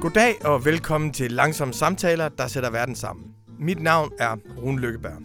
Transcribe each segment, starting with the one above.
Goddag og velkommen til Langsomme Samtaler, der sætter verden sammen. Mit navn er Rune Lykkeberg.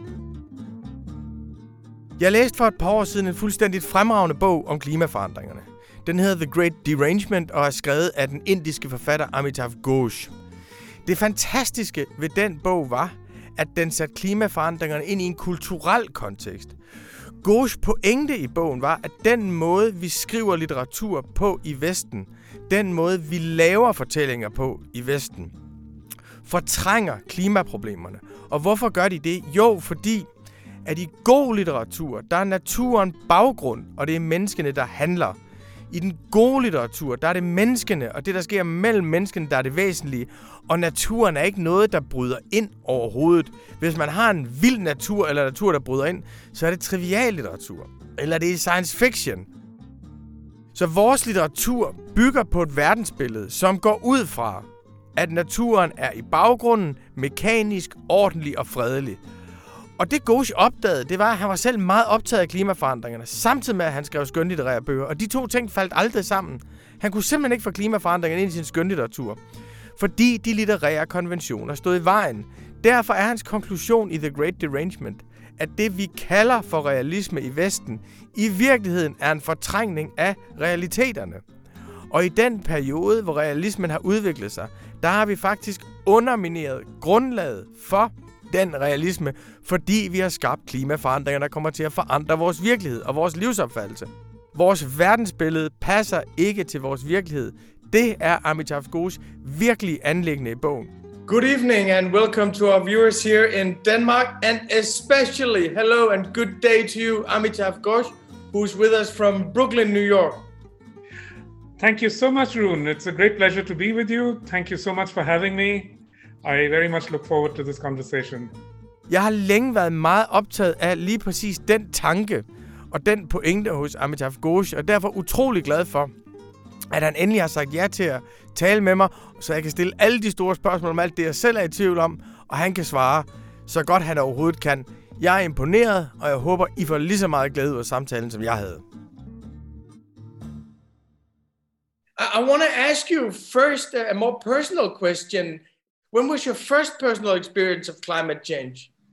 Jeg læste for et par år siden en fuldstændigt fremragende bog om klimaforandringerne. Den hedder The Great Derangement og er skrevet af den indiske forfatter Amitav Ghosh. Det fantastiske ved den bog var, at den satte klimaforandringerne ind i en kulturel kontekst. Ghosh pointe i bogen var, at den måde, vi skriver litteratur på i Vesten, den måde, vi laver fortællinger på i Vesten, fortrænger klimaproblemerne. Og hvorfor gør de det? Jo, fordi at i god litteratur, der er naturen baggrund, og det er menneskene, der handler. I den gode litteratur, der er det menneskene, og det, der sker mellem menneskene, der er det væsentlige. Og naturen er ikke noget, der bryder ind overhovedet. Hvis man har en vild natur, eller natur, der bryder ind, så er det trivial litteratur. Eller det er science fiction. Så vores litteratur bygger på et verdensbillede, som går ud fra, at naturen er i baggrunden, mekanisk, ordentlig og fredelig. Og det Ghosh opdagede, det var, at han var selv meget optaget af klimaforandringerne, samtidig med, at han skrev skønlitterære bøger. Og de to ting faldt aldrig sammen. Han kunne simpelthen ikke få klimaforandringerne ind i sin skønlitteratur, fordi de litterære konventioner stod i vejen. Derfor er hans konklusion i The Great Derangement, at det, vi kalder for realisme i Vesten, i virkeligheden er en fortrængning af realiteterne. Og i den periode, hvor realismen har udviklet sig, der har vi faktisk undermineret grundlaget for den realisme, fordi vi har skabt klimaforandringer, der kommer til at forandre vores virkelighed og vores livsopfattelse. Vores verdensbillede passer ikke til vores virkelighed. Det er Amitav Ghosh virkelig anliggende i bogen. Good evening and welcome to our viewers here in Denmark, and especially hello and good day to you, Amitav Ghosh, who's with us from Brooklyn, New York. Thank you so much, Rune. It's a great pleasure to be with you. Thank you so much for having me. I very much look forward to this conversation. Jeg har længe været meget optaget af lige præcis den tanke og den pointe hos Amitav Ghosh, og derfor utrolig glad for, at han endelig har sagt ja til at tale med mig, så jeg kan stille alle de store spørgsmål om alt det, jeg selv er i tvivl om, og han kan svare så godt han overhovedet kan. Jeg er imponeret, og jeg håber, I får lige så meget glæde ud af samtalen, som jeg havde. I want to ask you first a more personal question. When was your first personal experience of climate change?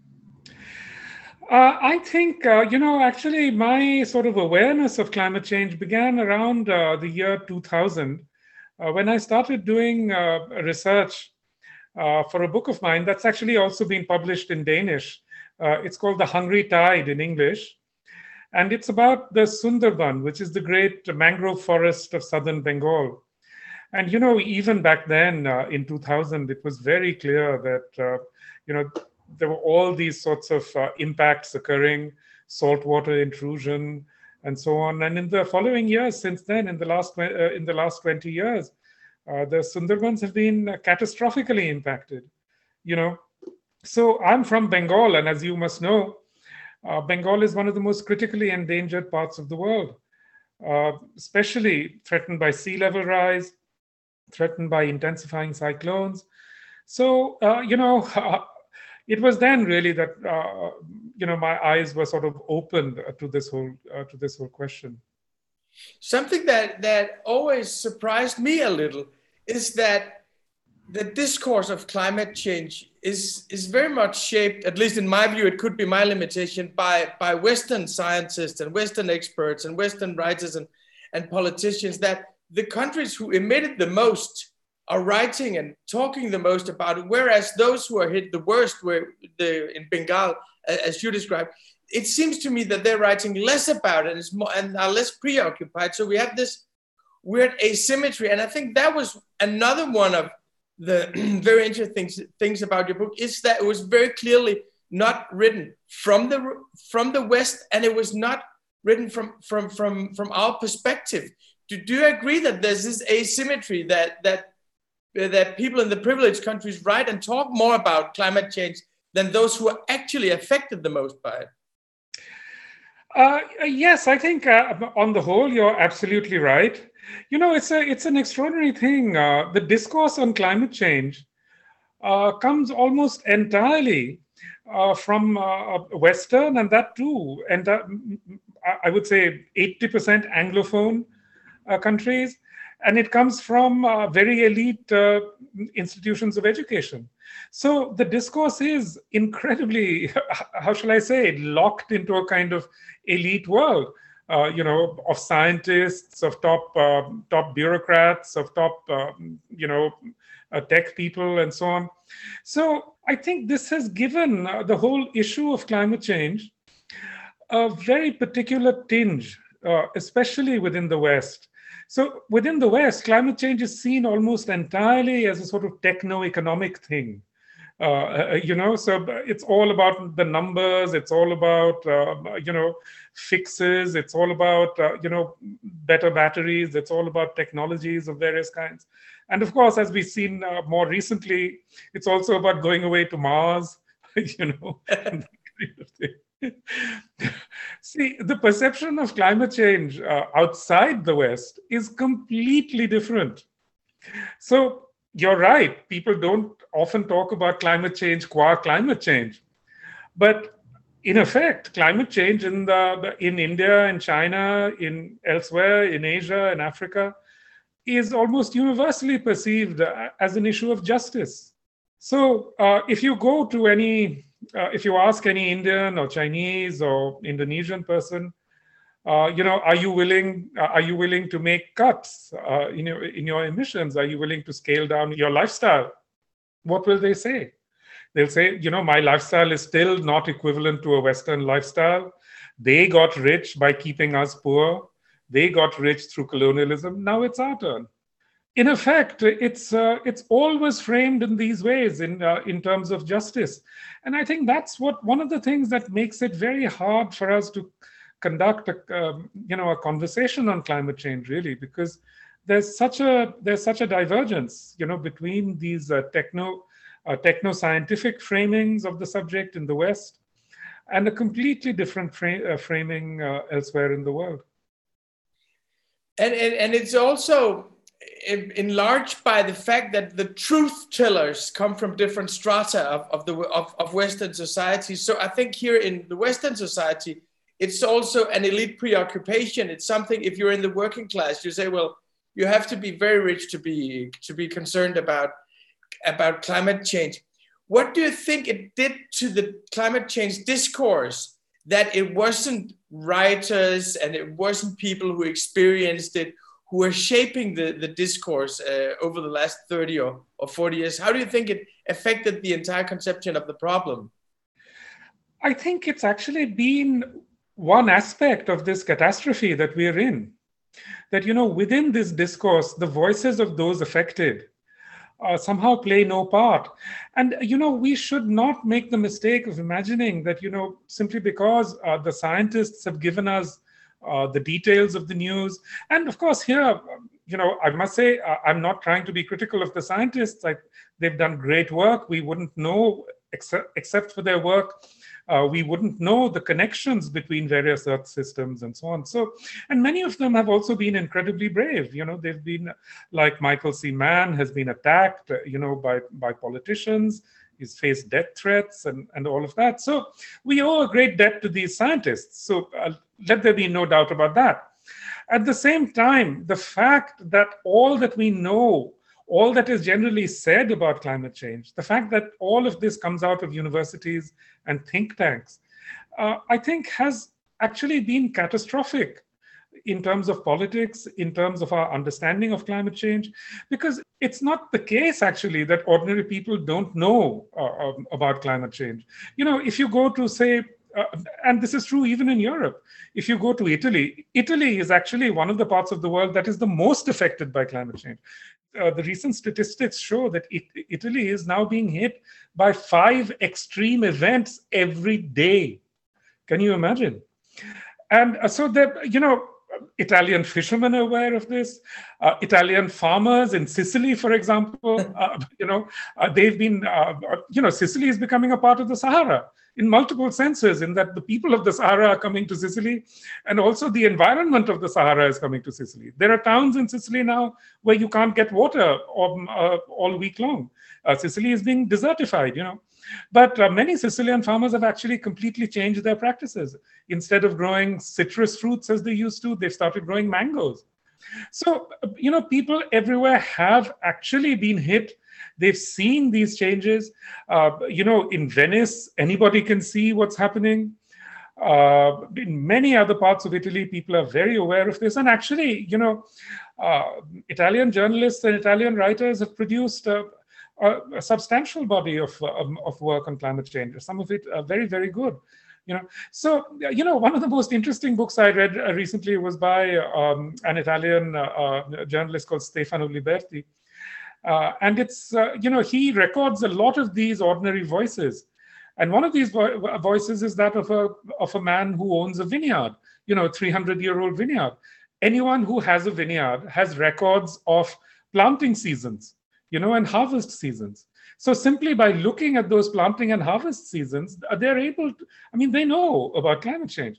I think, actually my sort of awareness of climate change began around the year 2000 when I started doing research for a book of mine that's actually also been published in Danish. It's called The Hungry Tide in English. And it's about the Sundarban, which is the great mangrove forest of southern Bengal. And, even back then in 2000, it was very clear that, there were all these sorts of impacts occurring, saltwater intrusion, and so on. And in the following years, since then, in the last 20 years, the Sundarbans have been catastrophically impacted. So I'm from Bengal, and as you must know, Bengal is one of the most critically endangered parts of the world, especially threatened by sea level rise, threatened by intensifying cyclones. So, it was then really that my eyes were sort of opened to this whole question. Something that always surprised me a little is that the discourse of climate change is very much shaped, at least in my view, it could be my limitation, by Western scientists and Western experts and Western writers and politicians, that the countries who emitted the most are writing and talking the most about it, whereas those who are hit the worst were in Bengal, as you described. It seems to me that they're writing less about it and are less preoccupied. So we have this weird asymmetry, and I think that was another one of the very interesting things about your book, is that it was very clearly not written from the West, and it was not written from our perspective. Do you agree that there's this asymmetry that people in the privileged countries write and talk more about climate change than those who are actually affected the most by it? Yes, I think on the whole, you're absolutely right. It's an extraordinary thing. The discourse on climate change comes almost entirely from Western, and that too, and I would say 80% Anglophone countries, and it comes from very elite institutions of education. So the discourse is incredibly, how shall I say, locked into a kind of elite world, of scientists, of top bureaucrats, of top, tech people, and so on. So I think this has given the whole issue of climate change a very particular tinge, especially within the West. So within the West, climate change is seen almost entirely as a sort of techno-economic thing. So it's all about the numbers. It's all about, fixes. It's all about, better batteries. It's all about technologies of various kinds. And of course, as we've seen more recently, it's also about going away to Mars, and that kind of thing. See, the perception of climate change outside the West is completely different. So you're right. People don't often talk about climate change qua climate change. But in effect, climate change in India, in China, in elsewhere, in Asia, in Africa, is almost universally perceived as an issue of justice. So if you go to if you ask any Indian or Chinese or Indonesian person, are you willing to make cuts in your emissions? Are you willing to scale down your lifestyle? What will they say? They'll say, my lifestyle is still not equivalent to a Western lifestyle. They got rich by keeping us poor. They got rich through colonialism. Now it's our turn. In effect, it's always framed in these ways in terms of justice, and I think that's one of the things that makes it very hard for us to conduct a conversation on climate change, really, because there's such a divergence, between these techno-scientific framings of the subject in the West and a completely different framing elsewhere in the world. And it's also enlarged by the fact that the truth tellers come from different strata of Western society. So I think here in the Western society, it's also an elite preoccupation. It's something, if you're in the working class, you say, well, you have to be very rich to be concerned about climate change. What do you think it did to the climate change discourse that it wasn't writers and it wasn't people who experienced it who are shaping the discourse over the last 30 or 40 years? How do you think it affected the entire conception of the problem? I think it's actually been one aspect of this catastrophe that we're in. That, within this discourse, the voices of those affected somehow play no part. And, we should not make the mistake of imagining that, simply because the scientists have given us the details of the news. And of course, here, I must say, I'm not trying to be critical of the scientists. They've done great work. We wouldn't know, except for their work, we wouldn't know the connections between various Earth systems and so on. So, and many of them have also been incredibly brave. They've been, like Michael C. Mann has been attacked, by politicians. He's faced death threats and all of that. So we owe a great debt to these scientists. So let there be no doubt about that. At the same time, the fact that all that we know, all that is generally said about climate change, the fact that all of this comes out of universities and think tanks, I think has actually been catastrophic in terms of politics, in terms of our understanding of climate change, because it's not the case, actually, that ordinary people don't know about climate change. If you go to, say, and this is true even in Europe, if you go to Italy, Italy is actually one of the parts of the world that is the most affected by climate change. The recent statistics show that Italy is now being hit by 5 extreme events every day. Can you imagine? And so that, Italian fishermen are aware of this. Italian farmers in Sicily, for example, they've been, Sicily is becoming a part of the Sahara in multiple senses, in that the people of the Sahara are coming to Sicily, and also the environment of the Sahara is coming to Sicily. There are towns in Sicily now where you can't get water all week long. Sicily is being desertified, But many Sicilian farmers have actually completely changed their practices. Instead of growing citrus fruits as they used to, they've started growing mangoes. So, people everywhere have actually been hit. They've seen these changes. In Venice, anybody can see what's happening. In many other parts of Italy, people are very aware of this. And actually, Italian journalists and Italian writers have produced a substantial body of work on climate change. Some of it very, very good. So one of the most interesting books I read recently was by an Italian journalist called Stefano Liberti, and it's he records a lot of these ordinary voices, and one of these voices is that of a man who owns a vineyard, 300-year-old vineyard. Anyone who has a vineyard has records of planting seasons, and harvest seasons. So simply by looking at those planting and harvest seasons, they're able to, they know about climate change.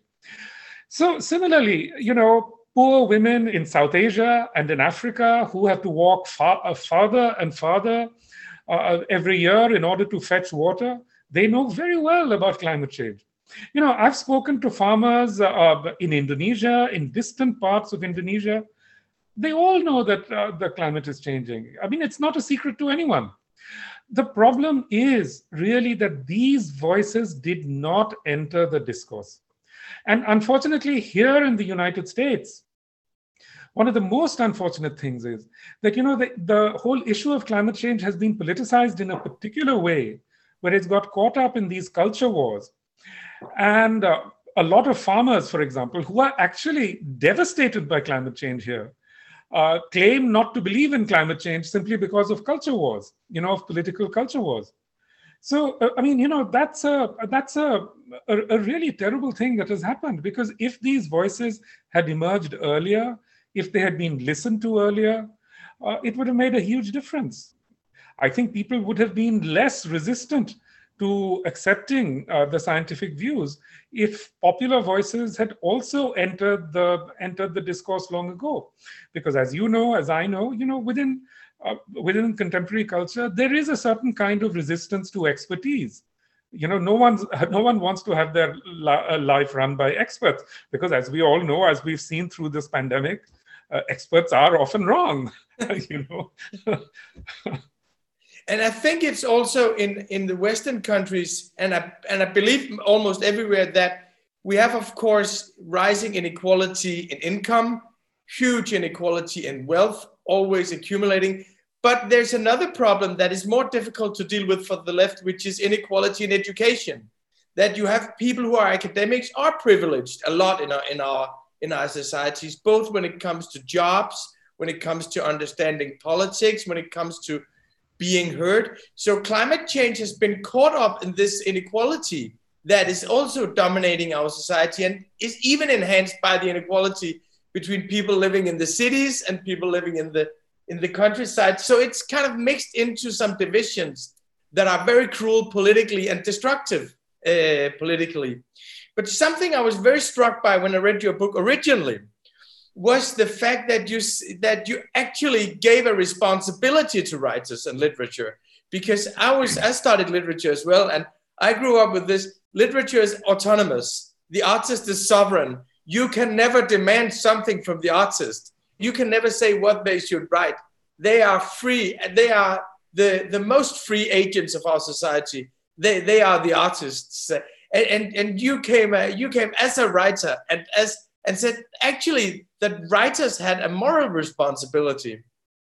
So similarly, poor women in South Asia and in Africa who have to walk farther and farther every year in order to fetch water, they know very well about climate change. I've spoken to farmers in Indonesia, in distant parts of Indonesia. They all know that the climate is changing. It's not a secret to anyone. The problem is really that these voices did not enter the discourse. And unfortunately, here in the United States, one of the most unfortunate things is that, the whole issue of climate change has been politicized in a particular way, where it's got caught up in these culture wars. And a lot of farmers, for example, who are actually devastated by climate change here, claim not to believe in climate change simply because of culture wars, of political culture wars. So, that's a really terrible thing that has happened, because if these voices had emerged earlier, if they had been listened to earlier, it would have made a huge difference. I think people would have been less resistant to accepting the scientific views if popular voices had also entered the discourse long ago. Because as you know, as I know, within contemporary culture, there is a certain kind of resistance to expertise. No one wants to have their life run by experts, because as we all know, as we've seen through this pandemic, experts are often wrong. And I think it's also in the Western countries, and I believe almost everywhere, that we have, of course, rising inequality in income, huge inequality in wealth, always accumulating. But there's another problem that is more difficult to deal with for the left, which is inequality in education. That you have people who are academics are privileged a lot in our societies, both when it comes to jobs, when it comes to understanding politics, when it comes to being heard. So climate change has been caught up in this inequality that is also dominating our society, and is even enhanced by the inequality between people living in the cities and people living in the countryside. So it's kind of mixed into some divisions that are very cruel politically and destructive politically. But something I was very struck by when I read your book originally was the fact that you actually gave a responsibility to writers and literature. Because I studied literature as well, and I grew up with this: literature is autonomous. The artist is sovereign. You can never demand something from the artist. You can never say what they should write. They are free. They are the most free agents of our society. They are the artists. And you came as a writer and said actually that writers had a moral responsibility.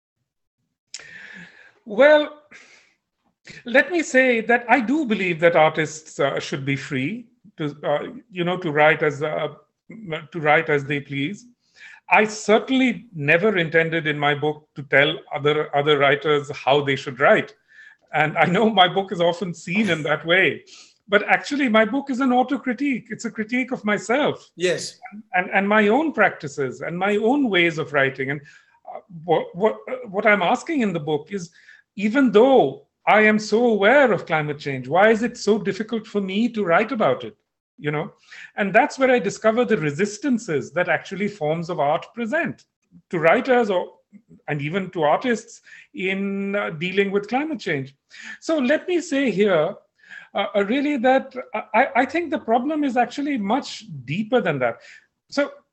Well, let me say that I do believe that artists should be free to write as they please. I certainly never intended in my book to tell other writers how they should write, and I know my book is often seen in that way. But actually, my book is an auto-critique. It's a critique of myself. Yes. And my own practices and my own ways of writing. And what I'm asking in the book is, even though I am so aware of climate change, why is it so difficult for me to write about it? And that's where I discover the resistances that actually forms of art present to writers and even to artists in dealing with climate change. So let me say here, really that I think the problem is actually much deeper than that. So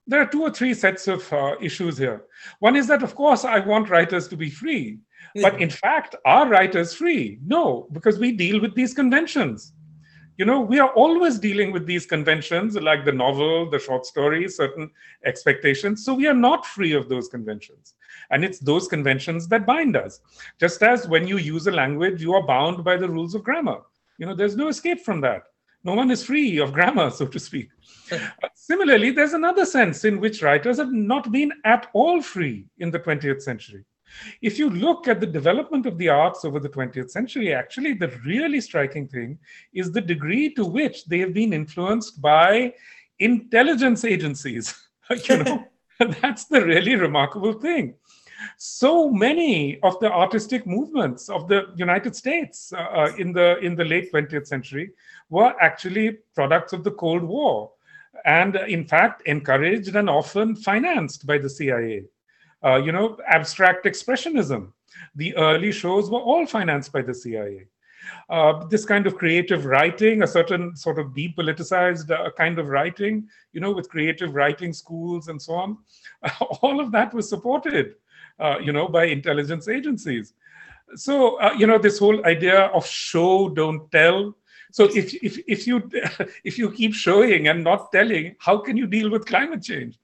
there are two or three sets of issues here. One is that, of course, I want writers to be free. But in fact, are writers free? No, because we deal with these conventions. We are always dealing with these conventions, like the novel, the short story, certain expectations. So we are not free of those conventions. And it's those conventions that bind us. Just as when you use a language, you are bound by the rules of grammar. There's no escape from that. No one is free of grammar, so to speak. Similarly, there's another sense in which writers have not been at all free in the 20th century. If you look at the development of the arts over the 20th century, actually, the really striking thing is the degree to which they have been influenced by intelligence agencies. That's the really remarkable thing. So many of the artistic movements of the United States in the late 20th century were actually products of the Cold War, and in fact encouraged and often financed by the CIA. Abstract expressionism. The early shows were all financed by the CIA. This kind of creative writing, a certain sort of depoliticized kind of writing, with creative writing schools and so on, all of that was supported, by intelligence agencies. So, this whole idea of show, don't tell. So if you keep showing and not telling, how can you deal with climate change?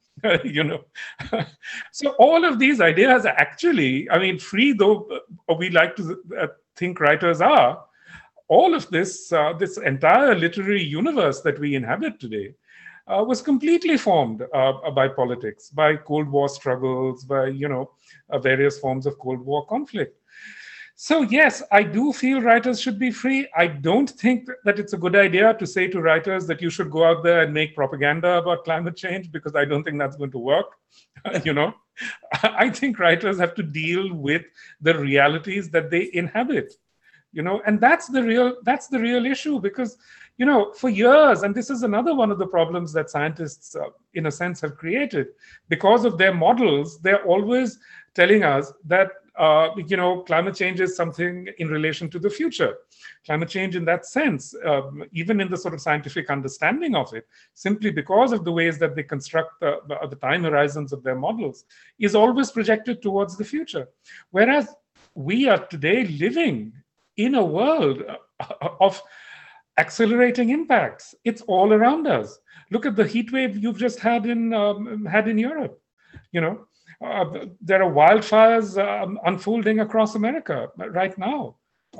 So all of these ideas actually, free though we like to think writers are, all of this entire literary universe that we inhabit today was completely formed by politics, by Cold War struggles, by various forms of Cold War conflict. So yes, I do feel writers should be free. I don't think that it's a good idea to say to writers that you should go out there and make propaganda about climate change, because I don't think that's going to work. I think writers have to deal with the realities that they inhabit. And that's the real issue, because for years, and this is another one of the problems that scientists in a sense have created, because of their models, they're always telling us that climate change is something in relation to the future. Climate change in that sense, even in the sort of scientific understanding of it, simply because of the ways that they construct the time horizons of their models, is always projected towards the future. Whereas we are today living in a world of accelerating impacts. It's all around us. Look at the heat wave you've just had in Europe. There are wildfires unfolding across America right now.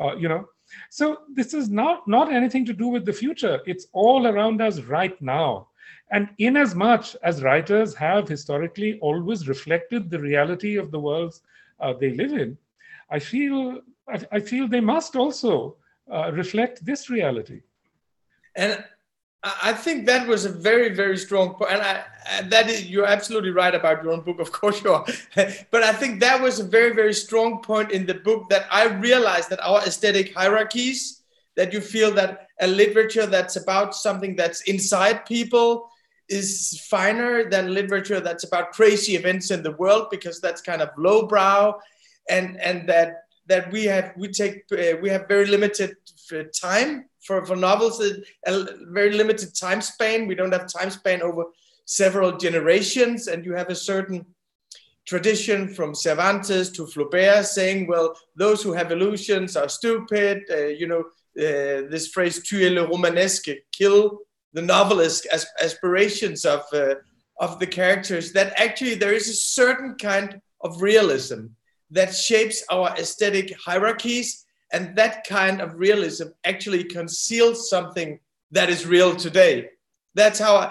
So this is not anything to do with the future. It's all around us right now. And in as much as writers have historically always reflected the reality of the worlds they live in, I feel they must also reflect this reality. And I think that was a very, very strong point. And you're absolutely right about your own book, of course you are. But I think that was a very, very strong point in the book, that I realized that our aesthetic hierarchies, that you feel that a literature that's about something that's inside people is finer than literature that's about crazy events in the world, because that's kind of lowbrow, and that we have very limited time for novels, a very limited time span. We don't have time span over several generations, and you have a certain tradition from Cervantes to Flaubert saying, well, those who have illusions are stupid. This phrase "tuer le romanesque," kill the novelist aspirations of the characters. That actually there is a certain kind of realism that shapes our aesthetic hierarchies, and that kind of realism actually conceals something that is real today. That's one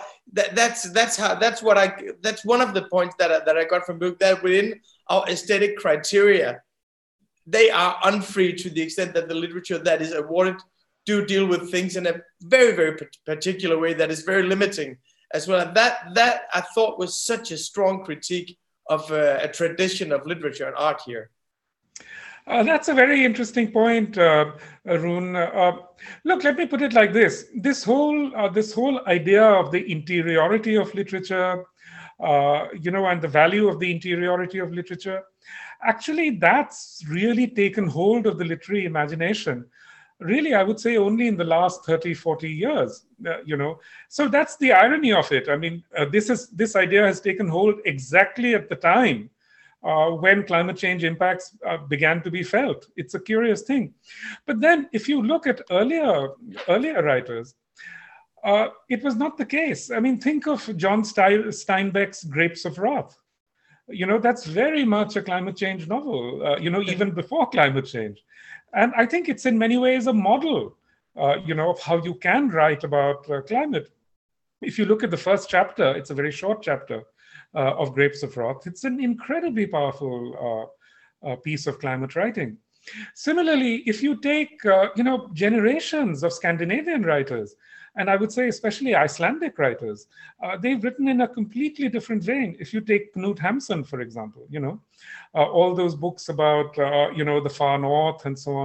of the points that I got from the book, that within our aesthetic criteria, they are unfree to the extent that the literature that is awarded do deal with things in a very, very particular way that is very limiting as well. And that I thought was such a strong critique of a tradition of literature and art here. That's a very interesting point, Arun. Look, let me put it like this: this whole idea of the interiority of literature, and the value of the interiority of literature, actually, that's really taken hold of the literary imagination really, I would say only in the last 30, 40 years, So that's the irony of it. I mean, this idea has taken hold exactly at the time when climate change impacts began to be felt. It's a curious thing. But then if you look at earlier writers, it was not the case. I mean, think of John Steinbeck's Grapes of Wrath. That's very much a climate change novel, even before climate change. And I think it's in many ways a model, of how you can write about climate. If you look at the first chapter, it's a very short chapter of Grapes of Wrath. It's an incredibly powerful piece of climate writing. Similarly, if you take, generations of Scandinavian writers, and I would say especially Icelandic writers, they've written in a completely different vein. If you take Knut Hamsun, for example, all those books about, the far north and so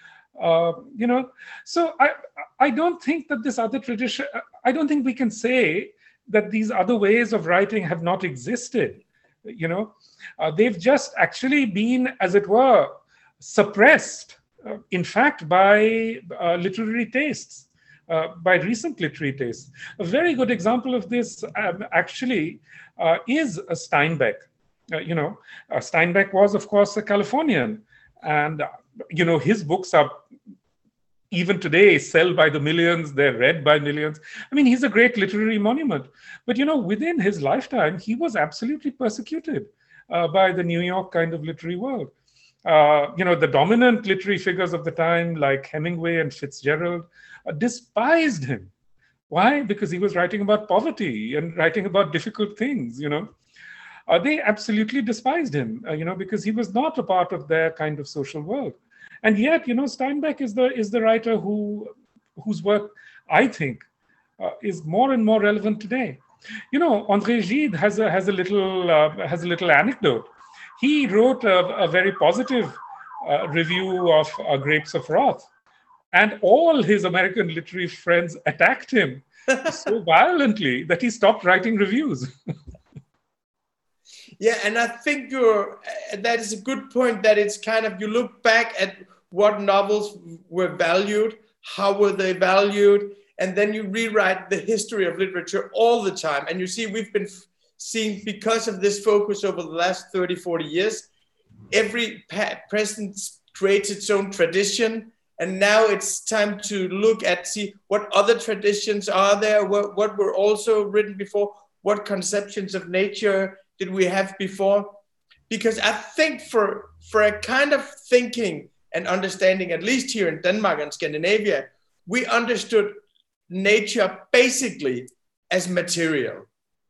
on, So I don't think that this other tradition, I don't think we can say that these other ways of writing have not existed. They've just actually been, as it were, suppressed, in fact, by literary tastes. By recent literary tastes. A very good example of this actually is Steinbeck. Steinbeck was, of course, a Californian. And, his books are, even today, sell by the millions. They're read by millions. I mean, he's a great literary monument. But, within his lifetime, he was absolutely persecuted by the New York kind of literary world. The dominant literary figures of the time, like Hemingway and Fitzgerald, despised him. Why? Because he was writing about poverty and writing about difficult things, They absolutely despised him, because he was not a part of their kind of social world. And yet, Steinbeck is the writer whose work, I think, is more and more relevant today. André Gide has a little anecdote. He wrote a very positive review of Grapes of Wrath. And all his American literary friends attacked him so violently that he stopped writing reviews. Yeah, and I think that is a good point, that it's kind of, you look back at what novels were valued, how were they valued, and then you rewrite the history of literature all the time. And you see, we've been seeing, because of this focus over the last 30, 40 years, every president creates its own tradition. And now it's time to see what other traditions are there, what were also written before, what conceptions of nature did we have before? Because I think for a kind of thinking and understanding, at least here in Denmark and Scandinavia, we understood nature basically as material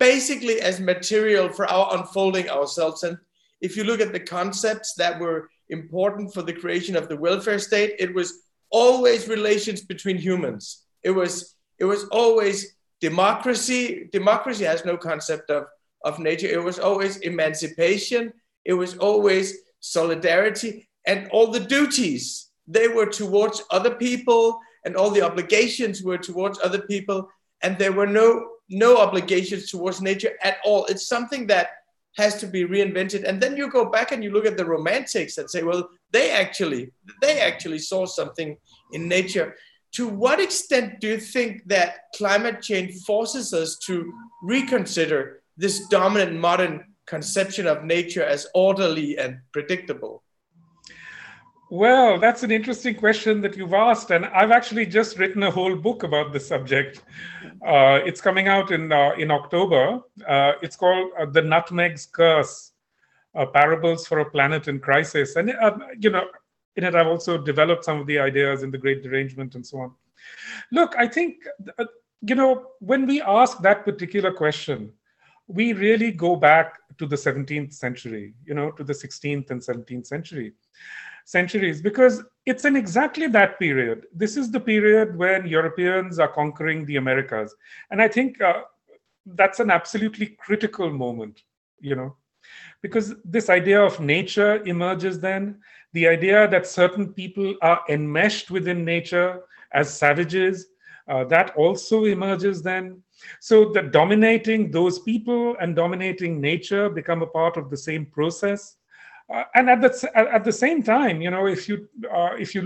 for our unfolding ourselves. And if you look at the concepts that were important for the creation of the welfare state, it was always relations between humans. It was always democracy. Democracy has no concept of nature. It was always emancipation. It was always solidarity, and all the duties, they were towards other people, and all the obligations were towards other people, and there were no obligations towards nature at all. It's something that has to be reinvented. And then you go back and you look at the Romantics and say, well, they actually saw something in nature. To what extent do you think that climate change forces us to reconsider this dominant modern conception of nature as orderly and predictable? Well, that's an interesting question that you've asked, and I've actually just written a whole book about this subject. It's coming out in October. It's called The Nutmeg's Curse, Parables for a Planet in Crisis. And, in it, I've also developed some of the ideas in The Great Derangement and so on. Look, I think, when we ask that particular question, we really go back to the 17th century, to the 16th and 17th centuries, because it's in exactly that period. This is the period when Europeans are conquering the Americas. And I think that's an absolutely critical moment, because this idea of nature emerges then, the idea that certain people are enmeshed within nature as savages, that also emerges then. So that dominating those people and dominating nature become a part of the same process. And at the same time, if you look at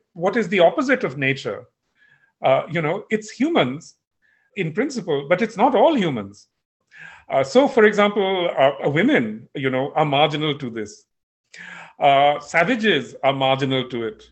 what is the opposite of nature? It's humans in principle, but it's not all humans. So, for example, women, are marginal to this. Savages are marginal to it.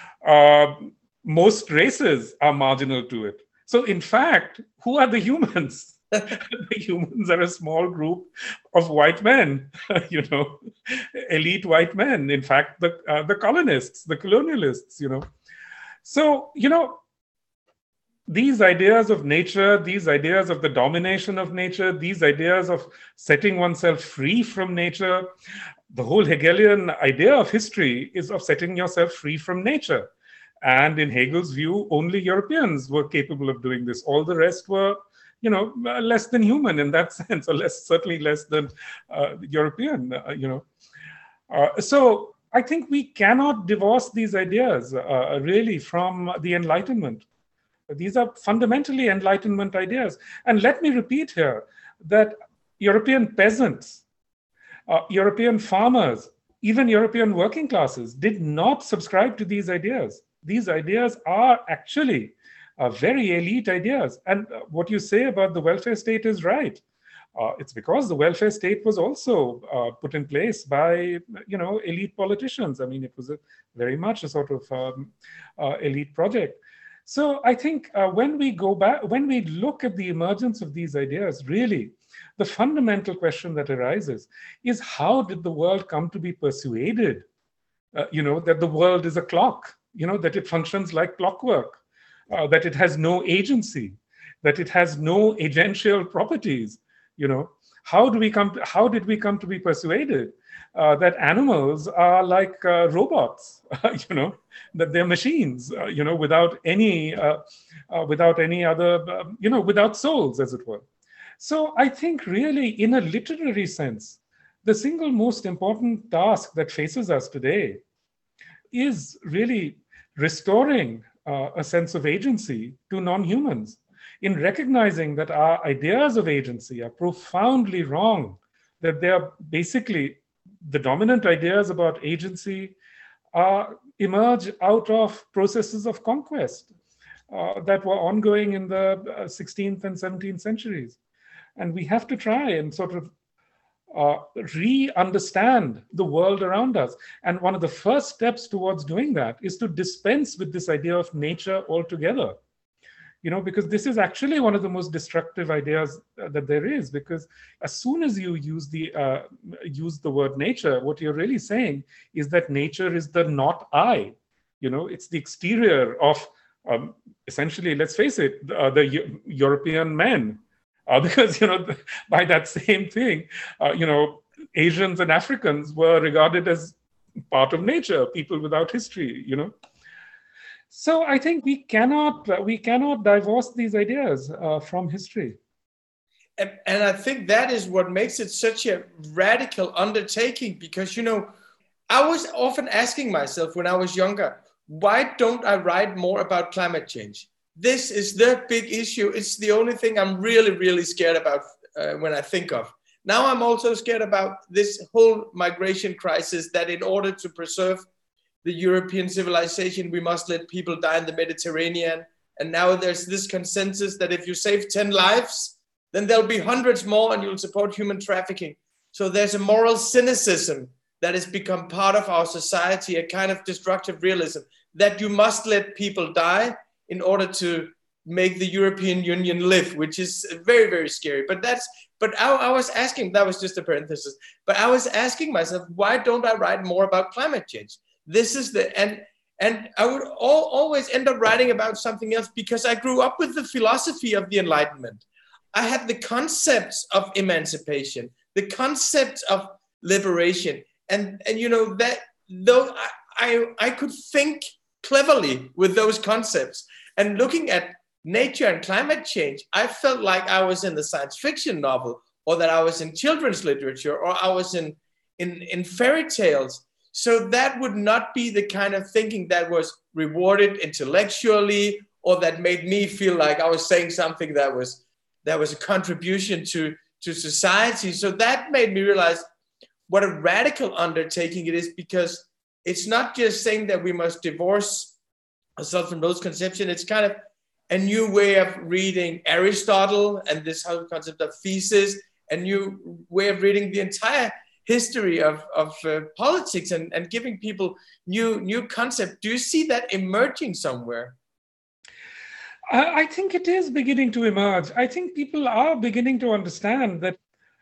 Most races are marginal to it. So, in fact, who are the humans? The humans are a small group of white men, elite white men. In fact, the colonists, the colonialists, So, these ideas of nature, these ideas of the domination of nature, these ideas of setting oneself free from nature, the whole Hegelian idea of history is of setting yourself free from nature. And in Hegel's view, only Europeans were capable of doing this. All the rest were, less than human in that sense, or certainly less than European, So I think we cannot divorce these ideas really from the Enlightenment. These are fundamentally Enlightenment ideas. And let me repeat here that European peasants, European farmers, even European working classes did not subscribe to these ideas. These ideas are actually very elite ideas. And what you say about the welfare state is right. It's because the welfare state was also put in place by, elite politicians. I mean, it was very much a sort of elite project. So I think when we go back, when we look at the emergence of these ideas, really, the fundamental question that arises is how did the world come to be persuaded, that the world is a clock, that it functions like clockwork, that it has no agency, that it has no agential properties, How did we come to be persuaded that animals are like robots, that they're machines, without any other, without souls, as it were. So I think really in a literary sense, the single most important task that faces us today is really restoring a sense of agency to non-humans, in recognizing that our ideas of agency are profoundly wrong, that they are basically the dominant ideas about agency emerge out of processes of conquest that were ongoing in the 16th and 17th centuries. And we have to try and sort of re-understand the world around us. And one of the first steps towards doing that is to dispense with this idea of nature altogether. Because this is actually one of the most destructive ideas that there is, because as soon as you use the word nature, what you're really saying is that nature is the not I. It's the exterior of essentially, let's face it, the European men. Because, by that same thing, Asians and Africans were regarded as part of nature, people without history, So I think we cannot divorce these ideas from history. And I think that is what makes it such a radical undertaking, because, I was often asking myself when I was younger, why don't I write more about climate change? This is the big issue. It's the only thing I'm really, really scared about when I think of. Now I'm also scared about this whole migration crisis, that in order to preserve the European civilization, we must let people die in the Mediterranean. And now there's this consensus that if you save 10 lives, then there'll be hundreds more and you'll support human trafficking. So there's a moral cynicism that has become part of our society, a kind of destructive realism, that you must let people die in order to make the European Union live, which is very, very scary. But I was asking, that was just a parenthesis, but I was asking myself, why don't I write more about climate change? This is and I would always end up writing about something else, because I grew up with the philosophy of the Enlightenment. I had the concepts of emancipation, the concepts of liberation, and that though I could think cleverly with those concepts. And looking at nature and climate change, I felt like I was in the science fiction novel, or that I was in children's literature, or I was in fairy tales. So that would not be the kind of thinking that was rewarded intellectually, or that made me feel like I was saying something that was a contribution to society. So that made me realize what a radical undertaking it is, because it's not just saying that we must divorce aside from those conceptions, it's kind of a new way of reading Aristotle and this whole concept of thesis, a new way of reading the entire history of politics and giving people new concept. Do you see that emerging somewhere? I think it is beginning to emerge. I think people are beginning to understand that,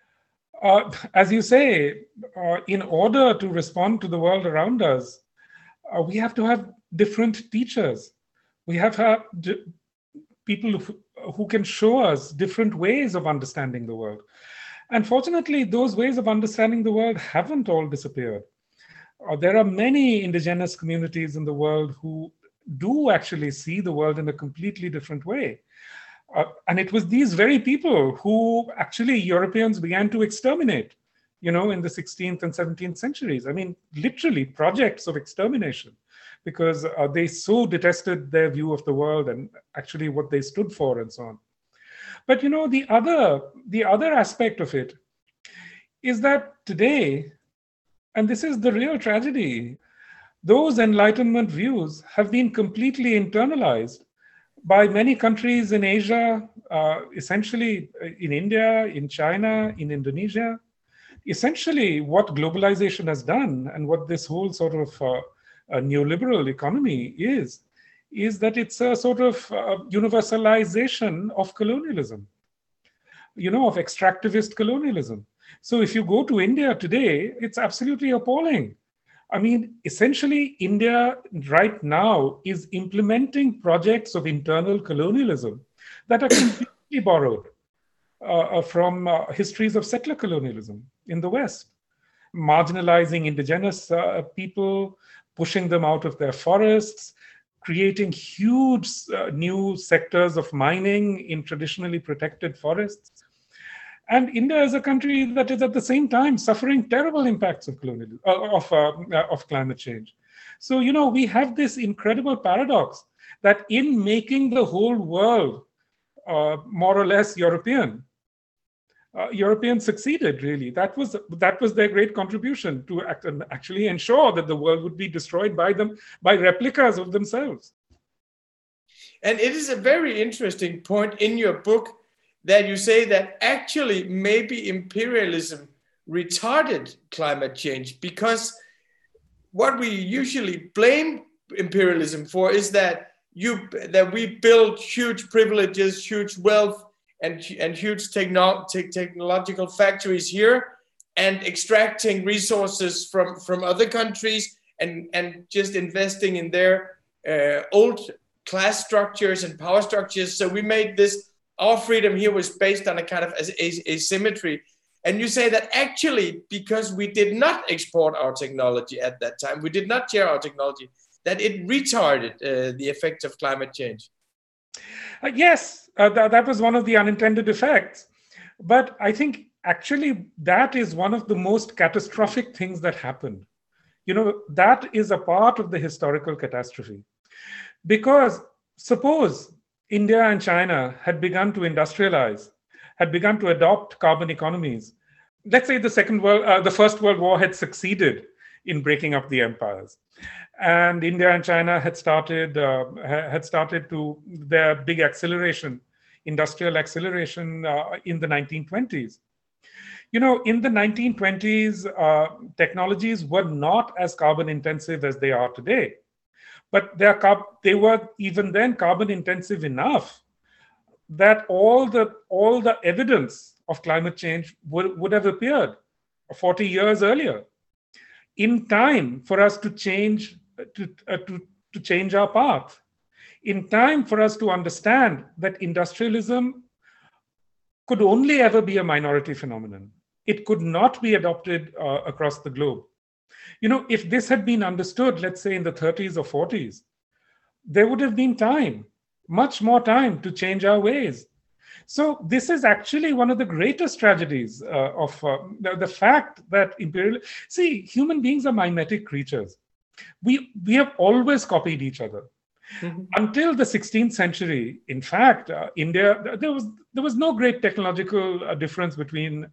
as you say, in order to respond to the world around us, we have to have different teachers. We have to have people who can show us different ways of understanding the world. And fortunately, those ways of understanding the world haven't all disappeared. There are many indigenous communities in the world who do actually see the world in a completely different way. And it was these very people who actually Europeans began to exterminate, in the 16th and 17th centuries. I mean, literally projects of extermination, because they so detested their view of the world and actually what they stood for and so on. But the other aspect of it is that today, and this is the real tragedy, those Enlightenment views have been completely internalized by many countries in Asia, essentially in India, in China, in Indonesia. Essentially, what globalization has done and what this whole sort of neoliberal economy is that it's a sort of universalization of colonialism, of extractivist colonialism. So if you go to India today, it's absolutely appalling. I mean, essentially, India right now is implementing projects of internal colonialism that are completely borrowed from histories of settler colonialism in the West, marginalizing indigenous people, pushing them out of their forests, creating huge new sectors of mining in traditionally protected forests. And India is a country that is at the same time suffering terrible impacts of colonialism, of climate change. So, we have this incredible paradox that in making the whole world more or less European, Europeans succeeded, really. That was their great contribution to actually ensure that the world would be destroyed by them, by replicas of themselves. And it is a very interesting point in your book that you say that actually maybe imperialism retarded climate change, because what we usually blame imperialism for is that we build huge privileges, huge wealth, and huge technological factories here, and extracting resources from other countries and just investing in their old class structures and power structures. So we made this, our freedom here was based on a kind of asymmetry. And you say that actually, because we did not export our technology at that time, we did not share our technology, that it retarded the effects of climate change. Yes, that was one of the unintended effects. But I think actually that is one of the most catastrophic things that happened. That is a part of the historical catastrophe. Because suppose India and China had begun to industrialize, had begun to adopt carbon economies. Let's say the First World War had succeeded in breaking up the empires, and India and China had started to their big acceleration, industrial acceleration in the 1920s. In the 1920s, technologies were not as carbon intensive as they are today. But they were even then carbon intensive enough that all the evidence of climate change would have appeared 40 years earlier, in time for us to change our path, in time for us to understand that industrialism could only ever be a minority phenomenon. It could not be adopted across the globe. If this had been understood, let's say in the 30s or 40s, there would have been time, much more time to change our ways. So this is actually one of the greatest tragedies of the fact that human beings are mimetic creatures. We have always copied each other. Mm-hmm. Until the 16th century, in fact, India, there was no great technological difference between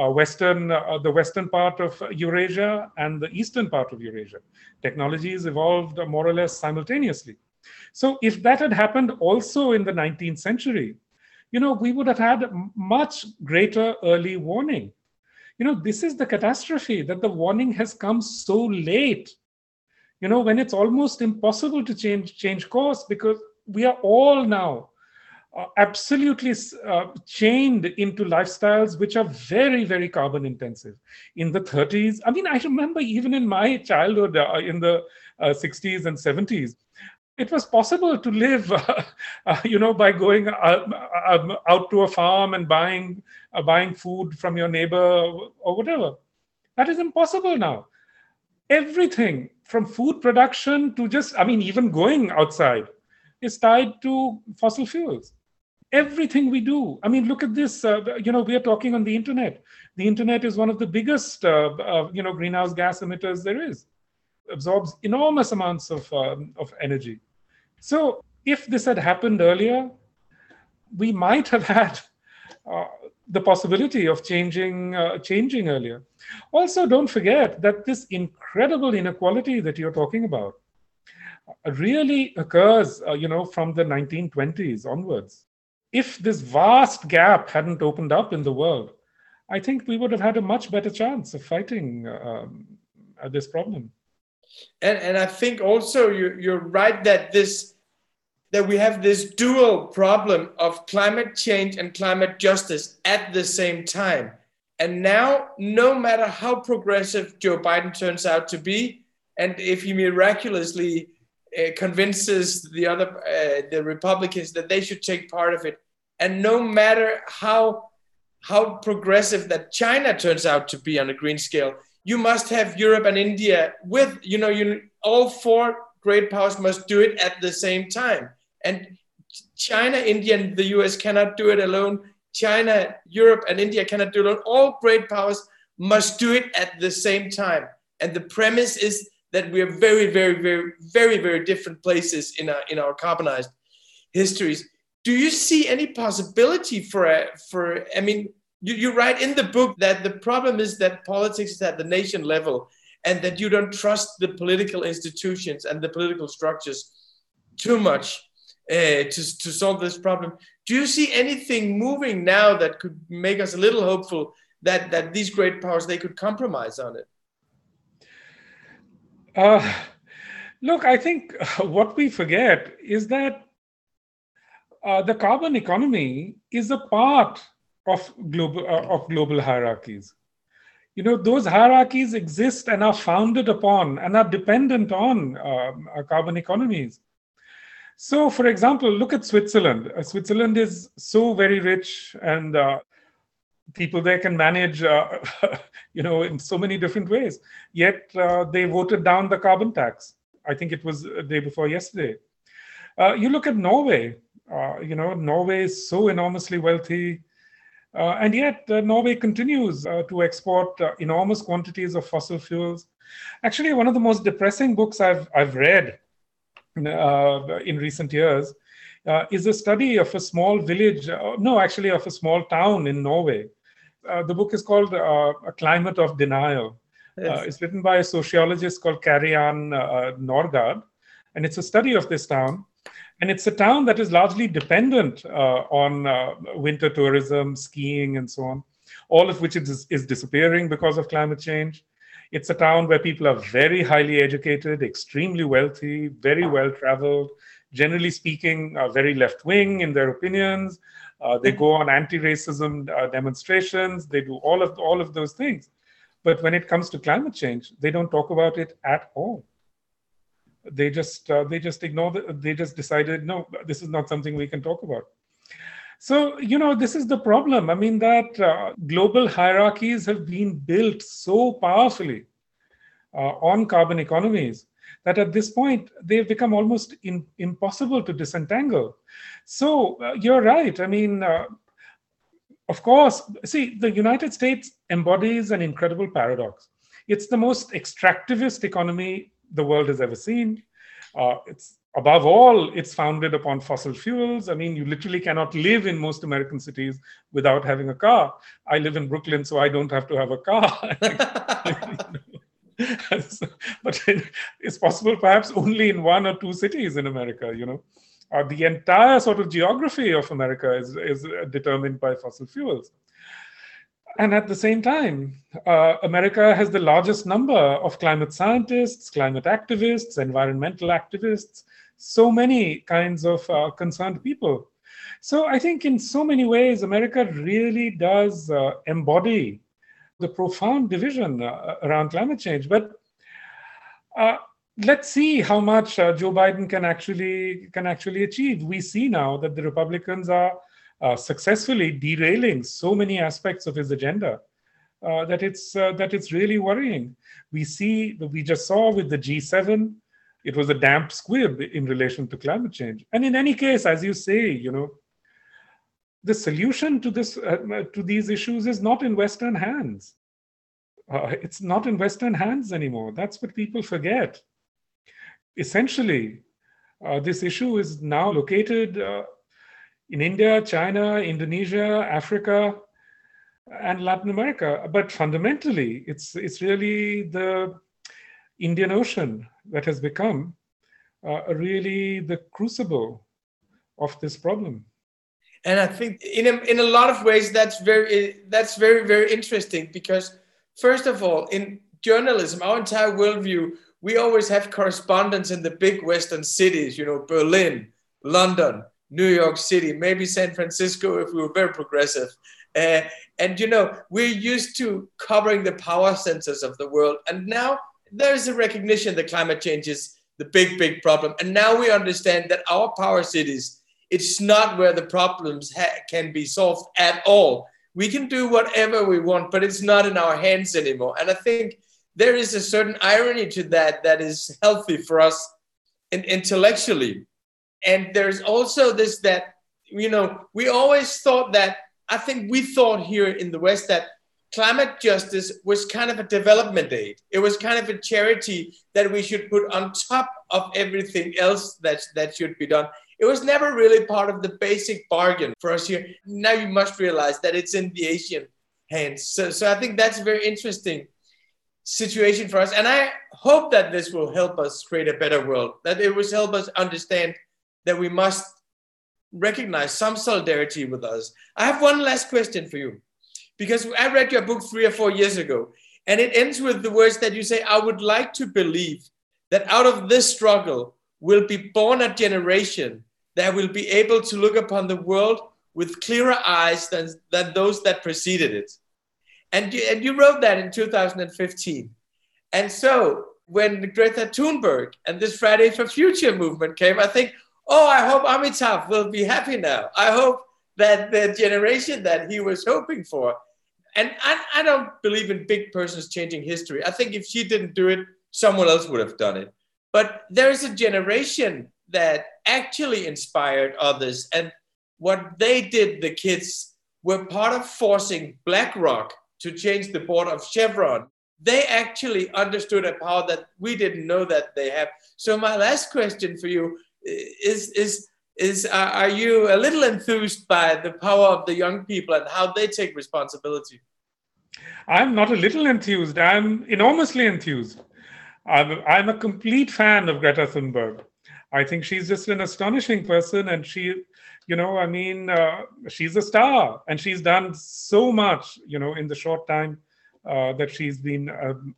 the western part of Eurasia and the eastern part of Eurasia. Technologies evolved more or less simultaneously. So if that had happened also in the 19th century, we would have had much greater early warning. This is the catastrophe, that the warning has come so late, when it's almost impossible to change course, because we are all now absolutely chained into lifestyles which are very, very carbon intensive. In the 30s, I remember even in my childhood, in the 60s and 70s, it was possible to live, by going out to a farm and buying food from your neighbor or whatever. That is impossible now. Everything from food production to even going outside is tied to fossil fuels. Everything we do. Look at this. We are talking on the internet. The internet is one of the biggest, greenhouse gas emitters there is. Absorbs enormous amounts of energy. So if this had happened earlier, we might have had the possibility of changing earlier. Also, don't forget that this incredible inequality that you're talking about really occurs, from the 1920s onwards. If this vast gap hadn't opened up in the world, I think we would have had a much better chance of fighting this problem. And I think also you're right that we have this dual problem of climate change and climate justice at the same time. And now, no matter how progressive Joe Biden turns out to be, and if he miraculously convinces the Republicans that they should take part of it, and no matter how progressive that China turns out to be on a green scale, you must have Europe and India with, all four great powers must do it at the same time. And China, India, and the US cannot do it alone. China, Europe, and India cannot do it alone. All great powers must do it at the same time. And the premise is that we are very, very, very, very, very different places in our carbonized histories. Do you see any possibility you write in the book that the problem is that politics is at the nation level and that you don't trust the political institutions and the political structures too much to solve this problem. Do you see anything moving now that could make us a little hopeful that these great powers, they could compromise on it? Look, I think what we forget is that the carbon economy is a part of global hierarchies. Those hierarchies exist and are founded upon and are dependent on carbon economies. So, for example, look at Switzerland. Switzerland is so very rich, and people there can manage, in so many different ways. Yet they voted down the carbon tax. I think it was the day before yesterday. You look at Norway. Norway is so enormously wealthy. And yet Norway continues to export enormous quantities of fossil fuels. Actually, one of the most depressing books I've read in recent years is a study of a small village, of a small town in Norway. The book is called A Climate of Denial. Yes. It's written by a sociologist called Karianne Norgaard, and it's a study of this town. And it's a town that is largely dependent on winter tourism, skiing, and so on, all of which is disappearing because of climate change. It's a town where people are very highly educated, extremely wealthy, very well-traveled, generally speaking, very left-wing in their opinions. They go on anti-racism demonstrations. They do all of those things. But when it comes to climate change, they don't talk about it at all. They just ignore they just decided, no, this is not something we can talk about. So, this is the problem. That global hierarchies have been built so powerfully on carbon economies that at this point, they've become almost impossible to disentangle. So you're right. Of course, see, the United States embodies an incredible paradox. It's the most extractivist economy the world has ever seen. It's above all, it's founded upon fossil fuels. You literally cannot live in most American cities without having a car. I live in Brooklyn, so I don't have to have a car. But it's possible perhaps only in 1 or 2 cities in America, The entire sort of geography of America is determined by fossil fuels. And at the same time, America has the largest number of climate scientists, climate activists, environmental activists, so many kinds of concerned people. So I think in so many ways, America really does embody the profound division around climate change. But let's see how much Joe Biden can actually achieve. We see now that the Republicans are successfully derailing so many aspects of his agenda that it's really worrying. We just saw with the G7, it was a damp squib in relation to climate change. And in any case, as you say, the solution to these issues is not in Western hands. It's not in Western hands anymore. That's what people forget. Essentially, this issue is now located in India, China, Indonesia, Africa, and Latin America. But fundamentally, it's really the Indian Ocean that has become really the crucible of this problem. And I think in a lot of ways that's very, very interesting, because first of all, in journalism, our entire worldview, we always have correspondents in the big Western cities, Berlin, London, New York City, maybe San Francisco if we were very progressive. And we're used to covering the power centers of the world. And now there's a recognition that climate change is the big problem. And now we understand that our power cities, it's not where the problems can be solved at all. We can do whatever we want, but it's not in our hands anymore. And I think there is a certain irony to that is healthy for us intellectually. And there's also this that, we always thought that, I think we thought here in the West that climate justice was kind of a development aid. It was kind of a charity that we should put on top of everything else that should be done. It was never really part of the basic bargain for us here. Now you must realize that it's in the Asian hands. So I think that's a very interesting situation for us. And I hope that this will help us create a better world, that it will help us understand that we must recognize some solidarity with us. I have one last question for you, because I read your book 3 or 4 years ago, and it ends with the words that you say, I would like to believe that out of this struggle will be born a generation that will be able to look upon the world with clearer eyes than those that preceded it. And you wrote that in 2015. And so when Greta Thunberg and this Friday for Future movement came, I think, I hope Amitav will be happy now. I hope that the generation that he was hoping for, and I don't believe in big persons changing history. I think if she didn't do it, someone else would have done it. But there is a generation that actually inspired others. And what they did, the kids, were part of forcing BlackRock to change the board of Chevron. They actually understood a power that we didn't know that they have. So my last question for you is are you a little enthused by the power of the young people and how they take responsibility? I'm not a little enthused. I'm enormously enthused. I'm a complete fan of Greta Thunberg. I think she's just an astonishing person, and she, she's a star, and she's done so much, in the short time that she's been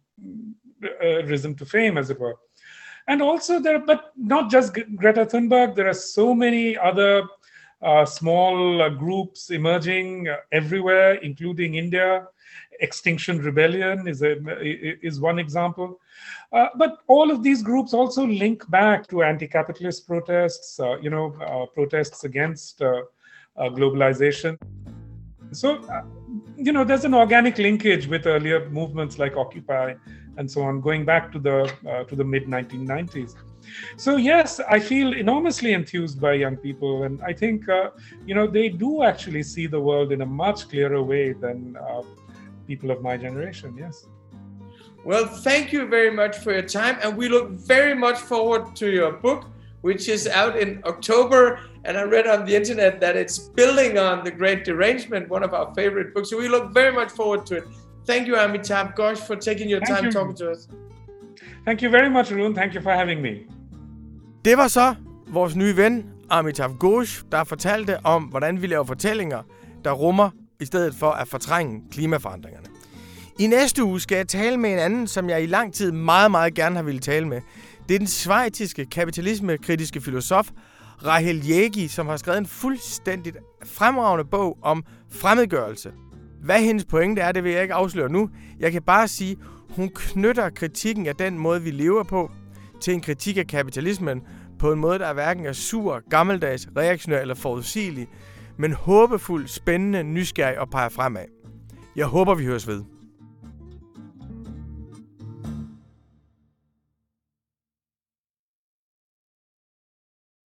risen to fame, as it were. And also but not just Greta Thunberg, there are so many other small groups emerging everywhere, including India. Extinction Rebellion is one example. But all of these groups also link back to anti-capitalist protests, protests against globalization. So, there's an organic linkage with earlier movements like Occupy and so on, going back to the mid-1990s. So yes, I feel enormously enthused by young people, and I think they do actually see the world in a much clearer way than people of my generation. Yes. Well, thank you very much for your time, and we look very much forward to your book, which is out in October. And I read on the internet that it's building on The Great Derangement, one of our favorite books. So we look very much forward to it. Thank you, Amitav Ghosh, for taking your time talking to us. Thank you very much, Arun. Thank you for having me. Det var så vores nye ven, Amitav Ghosh, der fortalte om, hvordan vi laver fortællinger, der rummer i stedet for at fortrænge klimaforandringerne. I næste uge skal jeg tale med en anden, som jeg i lang tid meget, meget gerne har ville tale med. Det er den schweiziske kapitalismekritiske filosof Rahel Jaegi, som har skrevet en fuldstændigt fremragende bog om fremmedgørelse. Hvad hendes pointe er, det vil jeg ikke afsløre nu. Jeg kan bare sige, hun knytter kritikken af den måde, vi lever på, til en kritik af kapitalismen på en måde, der hverken er sur, gammeldags, reaktionær eller forudsigelig, men håbefuld, spændende, nysgerrig og peger fremad. Jeg håber, vi høres ved.